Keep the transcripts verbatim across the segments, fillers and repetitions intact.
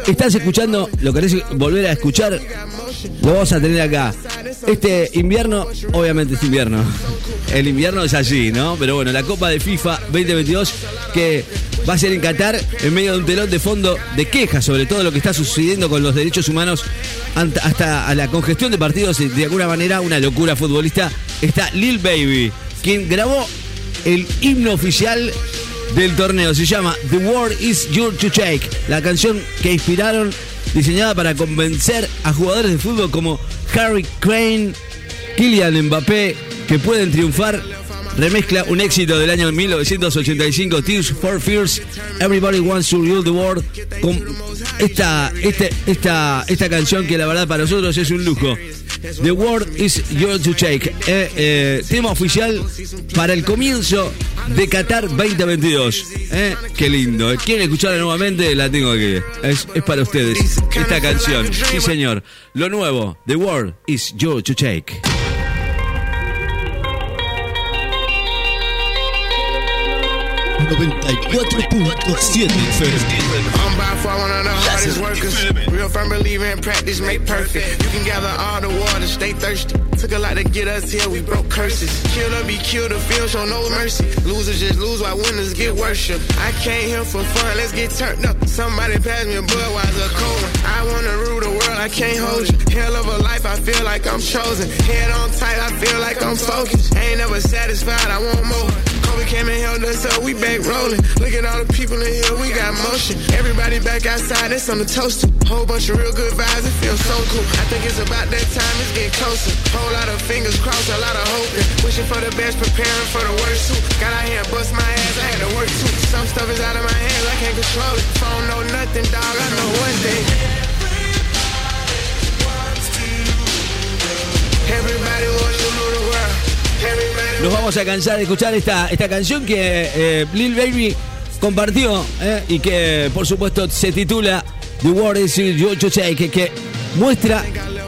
estás escuchando, lo querés volver a escuchar, lo vamos a tener acá. Este invierno, obviamente es invierno. El invierno es allí, ¿no? Pero bueno, la Copa de FIFA veinte veintidós que va a ser en Qatar en medio de un telón de fondo de quejas sobre todo lo que está sucediendo con los derechos humanos hasta a la congestión de partidos, de alguna manera una locura futbolista. Está Lil Baby, quien grabó el himno oficial del torneo. Se llama The World Is Yours to Take, la canción que inspiraron, diseñada para convencer a jugadores de fútbol como Harry Kane, Kylian Mbappé, que pueden triunfar. Remezcla un éxito del año mil novecientos ochenta y cinco, Tears for Fears, Everybody Wants to Rule the World, con esta, este, esta, esta canción que la verdad para nosotros es un lujo. The World Is Yours to Take, eh, eh, tema oficial para el comienzo de Qatar veinte veintidós. Eh, qué lindo. ¿Quieren escucharla nuevamente? La tengo aquí. Es, es para ustedes esta canción. Sí, señor. Lo nuevo, The World Is Yours to Take. noventa y cuatro punto siete I'm by far one of the hardest workers. Real firm believer in practice make perfect. You can gather all the water, stay thirsty. Took a lot to get us here, we broke curses. Kill or be killed, the field show no mercy. Losers just lose while winners get worship. I came here for fun, let's get turned up. Somebody pass me a Budweiser cold one. I wanna rule the world, I can't hold you. Hell of a life, I feel like I'm chosen. Head on tight, I feel like I'm focused. Ain't never satisfied, I want more. Kobe came and held us up, we back rolling. Look at all the people in here, we got motion. Everybody back outside, that's on the toaster. Whole bunch of real good vibes, it feels so cool. I think it's about that time, it's getting closer. Whole lot of fingers crossed, a lot of hoping. Wishing for the best, preparing for the worst too. Got out here and bust my ass, I had to work too. Some stuff is out of my hands, I can't control it. Phone know nothing, dog, I know one thing. Everybody wants to rule the world. Nos vamos a cansar de escuchar esta, esta canción que eh, Lil Baby compartió eh, y que por supuesto se titula The World Is Yours to Take, que, que muestra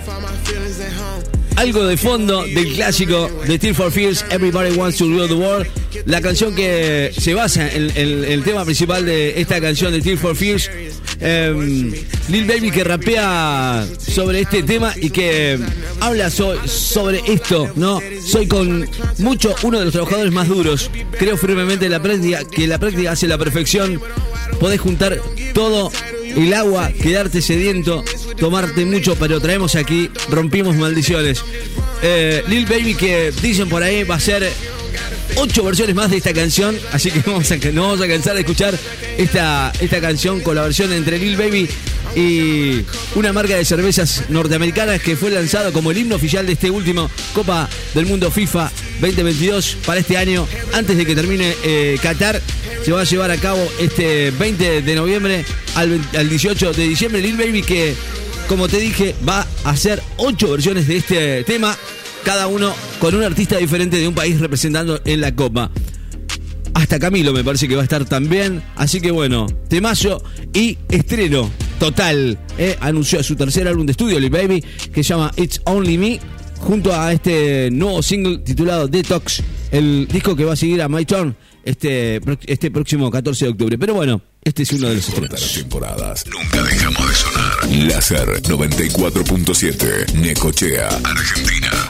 algo de fondo del clásico de Tears for Fears, Everybody Wants to Rule the World, la canción que se basa en, en, en el tema principal de esta canción de Tears for Fears. Eh, Lil Baby que rapea sobre este tema y que habla so, sobre esto, ¿no? Soy con mucho uno de los trabajadores más duros. Creo firmemente en la práctica, que la práctica hace la perfección. Podés juntar todo el agua, quedarte sediento, tomarte mucho, pero traemos aquí, rompimos maldiciones. Eh, Lil Baby que dicen por ahí va a ser ocho versiones más de esta canción, así que vamos a, no vamos a cansar de escuchar esta, esta canción con la versión entre Lil Baby y una marca de cervezas norteamericanas que fue lanzado como el himno oficial de este último Copa del Mundo FIFA veinte veintidós para este año. Antes de que termine eh, Qatar, se va a llevar a cabo este veinte de noviembre al, al dieciocho de diciembre. Lil Baby que, como te dije, va a hacer ocho versiones de este tema, cada uno con un artista diferente de un país representando en la Copa. Hasta Camilo me parece que va a estar también. Así que bueno, temazo y estreno total. Eh, anunció su tercer álbum de estudio, Lil Baby, que se llama It's Only Me, junto a este nuevo single titulado Detox, el disco que va a seguir a My Turn este, este próximo catorce de octubre. Pero bueno, este es uno de los estrenos. Las temporadas. Nunca dejamos de sonar. Láser noventa y cuatro punto siete, Necochea, Argentina.